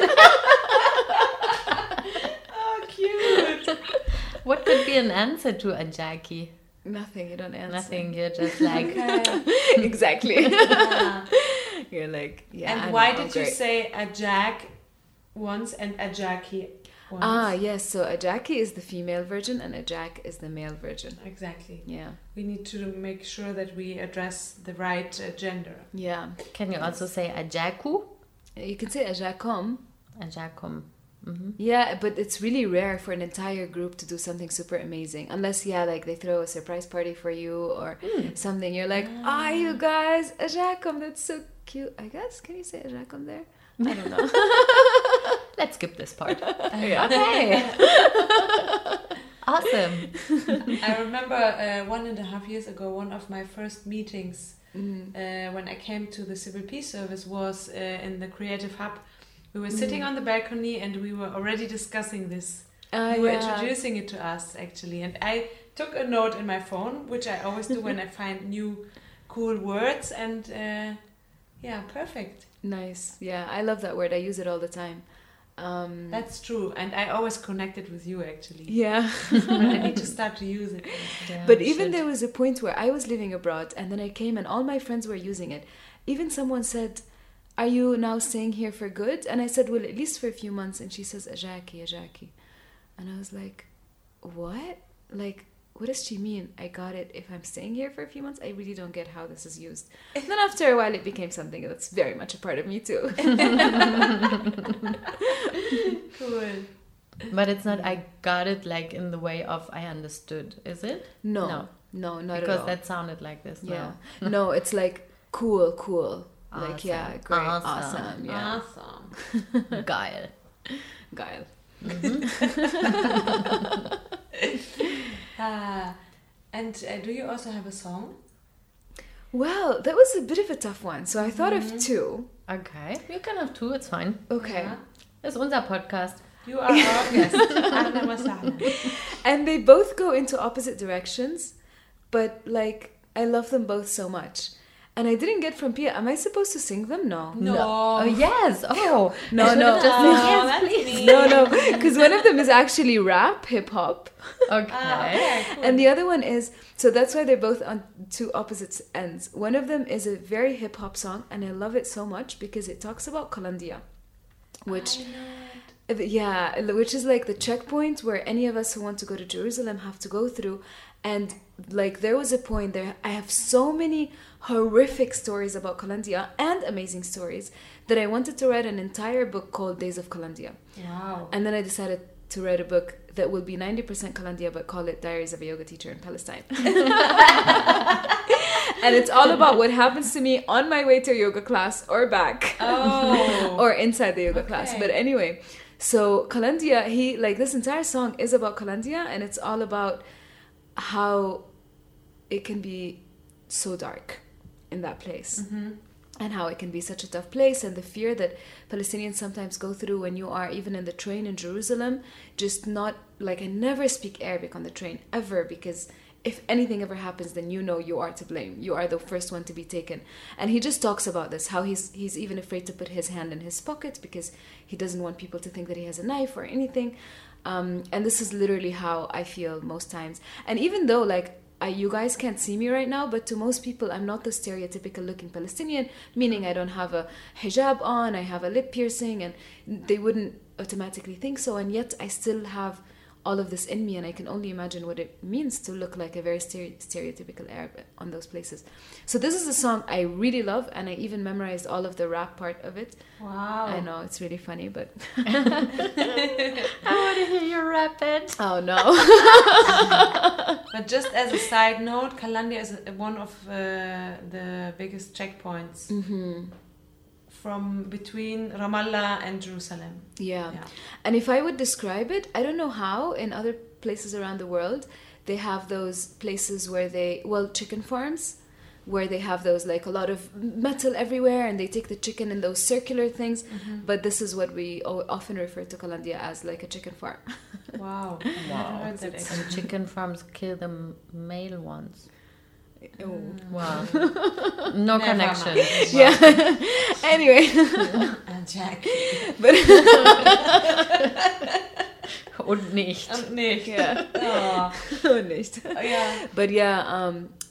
Oh, cute. What could be an answer to a Jackie? Nothing, you don't answer. Nothing, you're just like... Exactly. Yeah. You're like, And why did you say a jack ones and Ajaki ones. Ah, yes. So a Jackie is the female version and a Jack is the male version. Exactly. Yeah. We need to make sure that we address the right gender. Yeah. Can you also say Ajaku? You can say a Jackom. Ajakum. Yeah, but it's really rare for an entire group to do something super amazing. Unless, like they throw a surprise party for you or something. You're like, you guys, a Jackom, that's so cute. I guess, can you say a Jackom there? I don't know. Let's skip this part. Yeah. Okay. Awesome. I remember 1.5 years ago, one of my first meetings when I came to the Civil Peace Service was in the Creative Hub. We were sitting on the balcony and we were already discussing this. You were introducing it to us, actually. And I took a note in my phone, which I always do when I find new cool words. And perfect. Nice. Yeah, I love that word. I use it all the time. That's true. And I always connect it with you, actually. Yeah. I need to start to use it. Yeah, But even there was a point where I was living abroad and then I came and all my friends were using it. Even someone said, "Are you now staying here for good?" And I said, "Well, at least for a few months." And she says, Ajaki. And I was like, what? Like, what does she mean? I got it. If I'm staying here for a few months, I really don't get how this is used. And then after a while, it became something that's very much a part of me too. Cool. But it's not I got it like in the way of I understood, is it? No, not Because at all. that sounded like this. Yeah. No, it's like cool. Like, Awesome. yeah, great, Awesome. awesome, yeah. Awesome. Geil. Geil. And do you also have a song? Well, that was a bit of a tough one. So I thought of two. Okay. You can have two, it's fine. Okay. Ja. Das ist unser Podcast. You are our guest. Ahlan wa sahlan. And they both go into opposite directions, but like I love them both so much. And I didn't get from Pia, am I supposed to sing them? No. No. Oh, yes. Oh. No, I should no. have just Oh, said yes, that's please. me. No, because one of them is actually rap, hip hop. Okay. Okay, cool. And the other one is, so that's why they're both on two opposite ends. One of them is a very hip hop song, and I love it so much because it talks about Kalandia, which, which is like the checkpoint where any of us who want to go to Jerusalem have to go through. And like there was a point there, I have so many horrific stories about Kalandia and amazing stories that I wanted to write an entire book called Days of Kalandia. Wow. And then I decided to write a book that will be 90% Kalandia, but call it Diaries of a Yoga Teacher in Palestine. And it's all about what happens to me on my way to a yoga class or back. Oh. Or inside the yoga class. But anyway, so Kalandia, this entire song is about Kalandia, and it's all about how it can be so dark in that place. Mm-hmm. And how it can be such a tough place, and the fear that Palestinians sometimes go through when you are even in the train in Jerusalem. Just not, like, I never speak Arabic on the train, ever, because if anything ever happens, then you know you are to blame. You are the first one to be taken. And he just talks about this, how he's even afraid to put his hand in his pocket because he doesn't want people to think that he has a knife or anything. And this is literally how I feel most times. And even though, like, you guys can't see me right now, but to most people, I'm not the stereotypical looking Palestinian, meaning I don't have a hijab on, I have a lip piercing, and they wouldn't automatically think so. And yet I still have all of this in me, and I can only imagine what it means to look like a very stereotypical Arab on those places. So this is a song I really love, and I even memorized all of the rap part of it. Wow. I know, it's really funny, but... I want to hear you rap it. Oh, no. But just as a side note, Kalandia is one of the biggest checkpoints from between Ramallah and Jerusalem. Yeah. And if I would describe it, I don't know how in other places around the world they have those places where chicken farms, where they have those, like, a lot of metal everywhere, and they take the chicken in those circular things. But this is what we often refer to Kalandia as, like a chicken farm. Wow. Wow. Heard that actually. And chicken farms kill the male ones. Oh. Wow. No Never connection. mind. Yeah. Anyway. And Jack. Und nicht. Und nicht. Yeah. Oh. Nicht. Yeah. But yeah,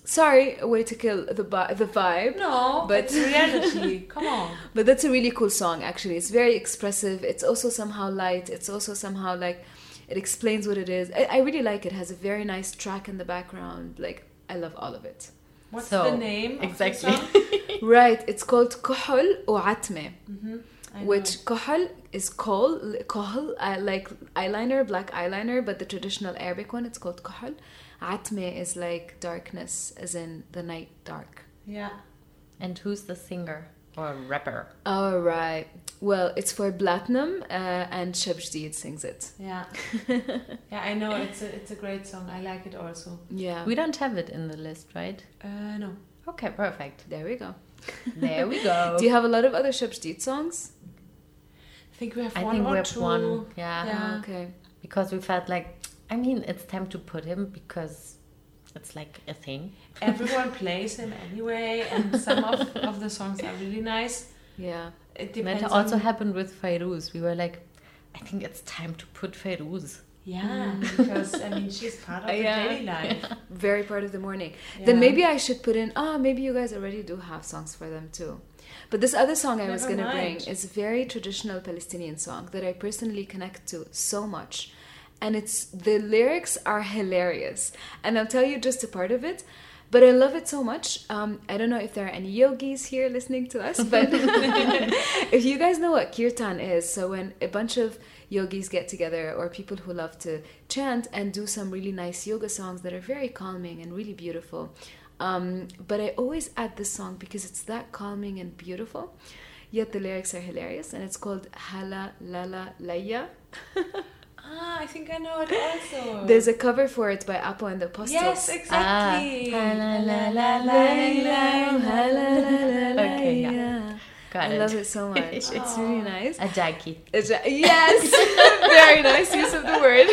Sorry, a way to kill the vibe. No, But- it's reality. Come on. But that's a really cool song, actually. It's very expressive. It's also somehow light. It's also somehow like it explains what it is. I really like it. It has a very nice track in the background. Like, I love all of it. What's So, the name exactly. of the song? Right. It's called Kuhul وعتمة. I know. Which Kuhul is Kuhul, like eyeliner, black eyeliner, but the traditional Arabic one, it's called Kuhul. Atme is like darkness, as in the night dark. Yeah. And who's the singer or rapper? All right. Well, it's for Platinum, and Shabjdid sings it. Yeah. Yeah, I know. It's a great song. I like it also. Yeah. We don't have it in the list, right? No. Okay, perfect. There we go. There we go. Do you have a lot of other Shabjdid songs? I think we have I one think or we have two. one. Yeah. Yeah. Okay. Because we felt like, I mean, it's time to put him because it's like a thing. Everyone plays him anyway, and some of the songs are really nice. Yeah. It And depends it also on... happened with Fairuz. We were like, I think it's time to put Fairuz. Yeah, because, I mean, she's part of the Yeah. daily life. Very part of the morning. Yeah. Then maybe I should put in, maybe you guys already do have songs for them too. But this other song I was Never going to bring mind. is a very traditional Palestinian song that I personally connect to so much. And the lyrics are hilarious. And I'll tell you just a part of it. But I love it so much. I don't know if there are any yogis here listening to us, but if you guys know what kirtan is, so when a bunch of yogis get together or people who love to chant and do some really nice yoga songs that are very calming and really beautiful. But I always add this song because it's that calming and beautiful, yet the lyrics are hilarious, and it's called Hala Lala Laya. I think I know it also. There's a cover for it by Apo and the Apostles. Yes, exactly. Okay, yeah. Got I it. love it so much. It's really nice. A jackie. Yes, very nice use of the word.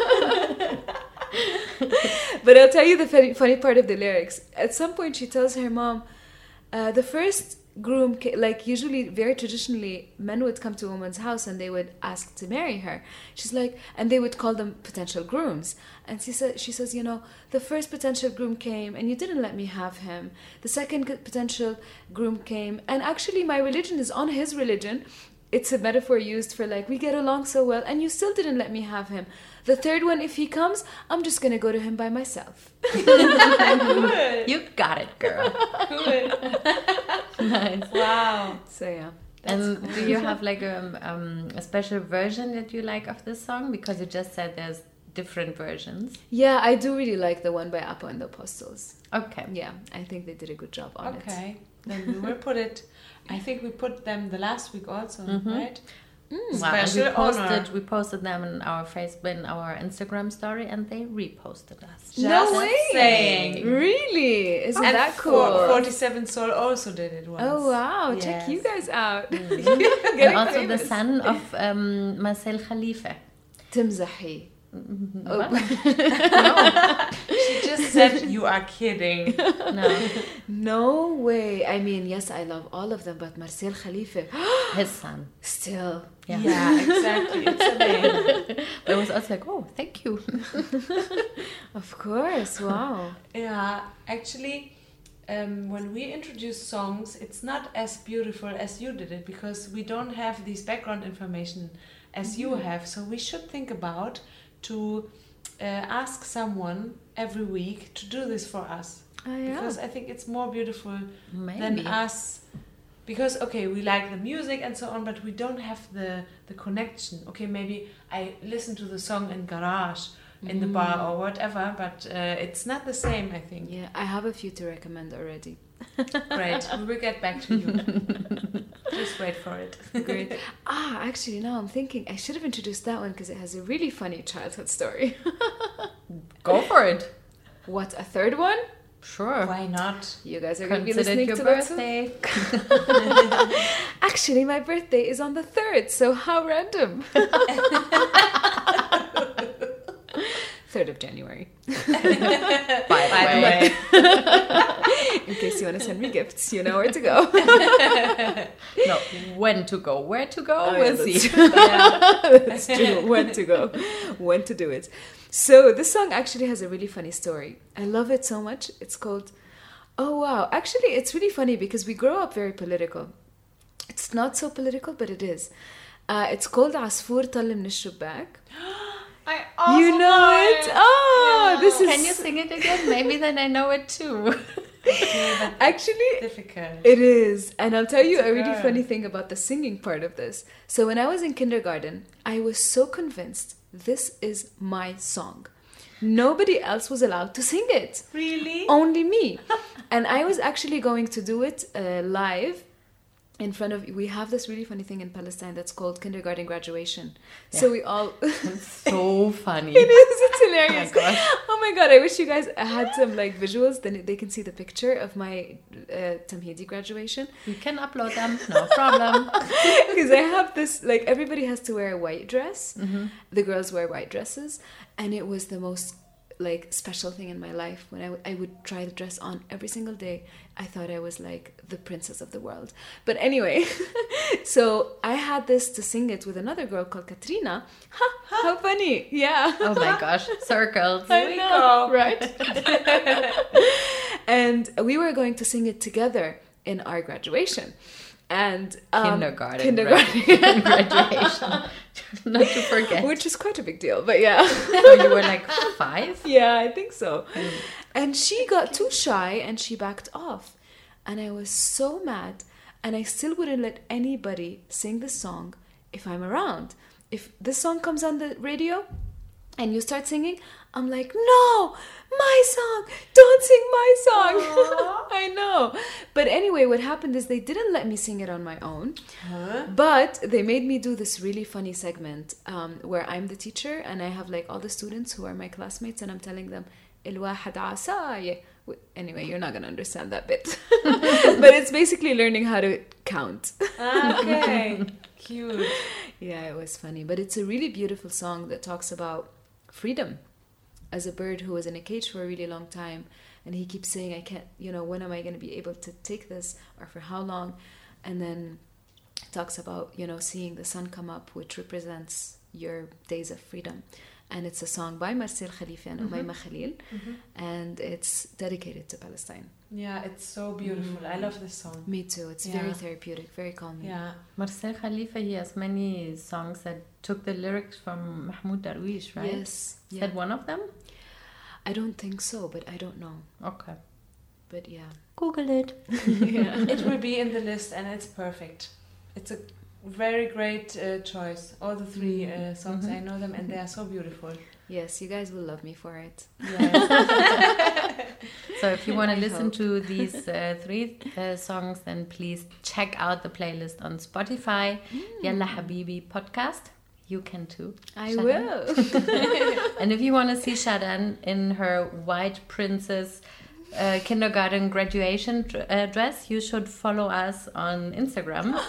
But I'll tell you the funny part of the lyrics. At some point, she tells her mom, the first groom, like usually very traditionally, men would come to a woman's house and they would ask to marry her. She's like, and they would call them potential grooms. And she says, you know, the first potential groom came and you didn't let me have him. The second potential groom came, and actually my religion is on his religion. It's a metaphor used for like, we get along so well and you still didn't let me have him. The third one, if he comes, I'm just going to go to him by myself. Good. You got it, girl. Good. Nice. Wow. So yeah. And do you have like a special version that you like of this song? Because you just said there's different versions. Yeah, I do really like the one by Apo and the Apostles. Okay. Yeah, I think they did a good job on it. Okay. Then we will put it. I think we put them the last week also, right? Wow, and Special honor. we posted them in our Facebook, in our Instagram story, and they reposted us. Just No way! saying. Really? Isn't And that cool? 47 Soul also did it once. Oh wow! Check Yes. you guys out. And also the son of Marcel Khalifa. تمزحي. She just said, you are kidding. No, No way. I mean, yes, I love all of them, but Marcel Khalifa, his son. still. Yeah. Yeah, exactly. It's amazing. But it was also like, oh, thank you. Of course. Wow. Yeah, actually, when we introduce songs, it's not as beautiful as you did it because we don't have this background information as you have. So we should think about to ask someone every week to do this for us. Oh, yeah. Because I think it's more beautiful Maybe. than us. Because, okay, we like the music and so on, but we don't have the connection. Okay, maybe I listen to the song in garage, in the bar or whatever, but it's not the same, I think. Yeah, I have a few to recommend already. Great, we will get back to you. Just wait for it. Great. Actually, now I'm thinking I should have introduced that one because it has a really funny childhood story. Go for it. What, a third one? Sure. Why not? You guys are going to be Consider listening your to that too? birthday. Actually, my birthday is on the 3rd, so how random. 3rd of January. By the way. In case you want to send me gifts, you know where to go. No, when to go. Where to go, Oh, we'll yeah, see. That's true. When to go, when to do it. So this song actually has a really funny story. I love it so much. It's called, oh wow. Actually, it's really funny because we grow up very political. It's not so political, but it is. It's called عصفور طل من الشباك. I also You know it? Oh, Yeah. this is Can you sing it again? Maybe then I know it too. actually difficult. it is. And I'll tell you It's a a really girl. funny thing about the singing part of this. So when I was in kindergarten, I was so convinced this is my song. Nobody else was allowed to sing it. Really? Only me. And I was actually going to do it live in front of, we have this really funny thing in Palestine that's called kindergarten graduation. So we all, So funny. it is, it's hilarious. Oh my gosh. Oh my god, I wish you guys had some like visuals, then they can see the picture of my Tamhidi graduation. You can upload them, no problem. Because I have this, like, everybody has to wear a white dress. The girls wear white dresses, and it was the most like special thing in my life when I would try the dress on every single day. I thought I was like the princess of the world. But anyway, so I had this to sing it with another girl called Katrina. How funny. Yeah. Oh my gosh, circles. I know, right? And we were going to sing it together in our graduation. And Kindergarten graduation. Not to forget. which is quite a big deal, but yeah. So you were like 5? Yeah, I think so. And she got too shy and she backed off. And I was so mad. And I still wouldn't let anybody sing this song if I'm around. If this song comes on the radio and you start singing, I'm like, no, my song, don't sing my song. I know. But anyway, what happened is they didn't let me sing it on my own. But they made me do this really funny segment where I'm the teacher and I have like all the students who are my classmates and I'm telling them, الواحد عصاية. Anyway, you're not going to understand that bit. But it's basically learning how to count. Okay. Cute. Yeah, it was funny. But it's a really beautiful song that talks about freedom as a bird who was in a cage for a really long time. And he keeps saying, I can't, when am I going to be able to take this or for how long? And then it talks about, seeing the sun come up, which represents your days of freedom. And it's a song by Marcel Khalifa and Umayma Khalil. And it's dedicated to Palestine. Yeah, it's so beautiful. I love this song. Me too. It's very therapeutic, very calming. Yeah. Marcel Khalifa, he has many songs that took the lyrics from Mahmoud Darwish, right? Yes. Is that one of them? I don't think so, but I don't know. Okay. But yeah. Google it. It will be in the list and it's perfect. It's a very great choice. All the 3 songs, I know them and they are so beautiful. Yes, you guys will love me for it. Yes. So if you want to I listen hope. to these 3 songs, then please check out the playlist on Spotify. Yalla Habibi podcast. You can too. I Shadan. will. And if you want to see Shadan in her white princess kindergarten graduation dress, you should follow us on Instagram.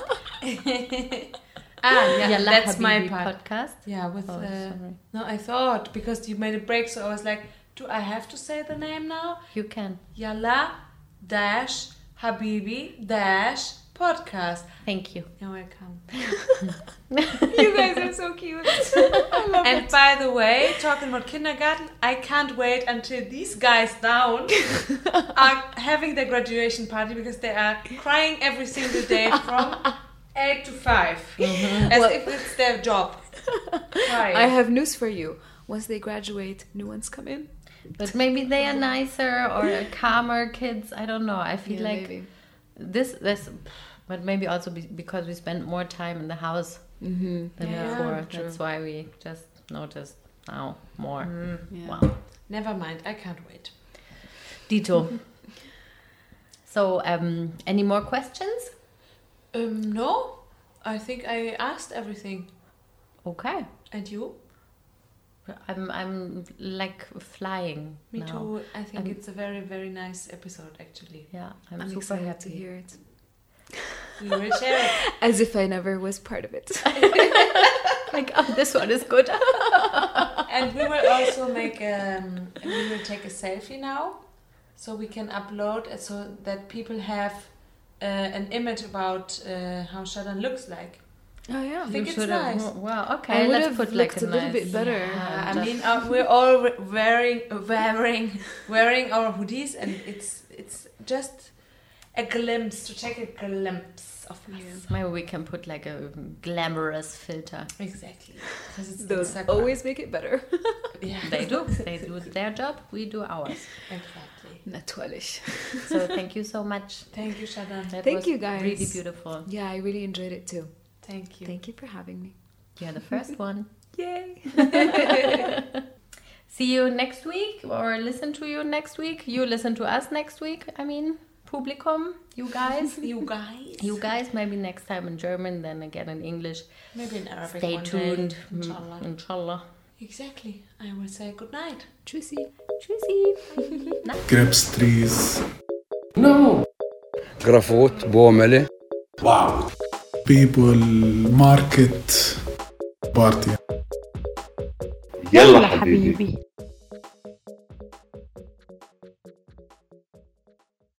Yalla that's Habibi my part. podcast. Yeah, with Oh, sorry. no, I thought because you made a break, so I was like, do I have to say the name now? You can. Yalla dash Habibi dash podcast. Thank you. You're welcome. You guys are so cute. I love And by the way, talking about kindergarten, I can't wait until these guys down are having their graduation party because they are crying every single day from 8 to 5. As if it's their job. Crying. I have news for you. Once they graduate, new ones come in. But maybe they are nicer or calmer kids. I don't know. I feel like maybe. this, but maybe also because we spend more time in the house than before. true. That's why we just noticed now more. Yeah. Wow. Never mind, I can't wait. Dito. So, any more questions? No, I think I asked everything. Okay. And you? I'm like flying. Me now. too. I think it's a very, very nice episode, actually. Yeah, I'm I'm super excited happy to hear it. We will share it. As if I never was part of it. Like, oh, this one is good. And we will also make we will take a selfie now. so we can upload it so that people have an image about how Shadan looks like. Oh yeah. I think You it's should have. nice. Wow. I Okay. would Let's have put like looked a little bit better. Yeah, I just- mean, we're all wearing our hoodies, and it's just a glimpse to take a glimpse of us. Maybe we can put like a glamorous filter. Exactly. Because it's Those Instagram. always make it better. Yeah. They do. They do their job. We do ours. Exactly. Natürlich. So thank you so much. Thank you, Shadan. That Thank was you, guys. Really beautiful. Yeah, I really enjoyed it too. Thank you. Thank you for having me. You're the first one. Yay. See you next week or listen to you next week. You listen to us next week. I mean, Publikum, you guys. You guys. You guys, maybe next time in German, then again in English. Maybe in Arabic. Stay one tuned. Day, inshallah. Inshallah. Exactly. I will say good night. Tschüssi. Tschüssi. Grapes trees, No. جرافوت بوملة Wow. people, market, party. يلا حبيبي.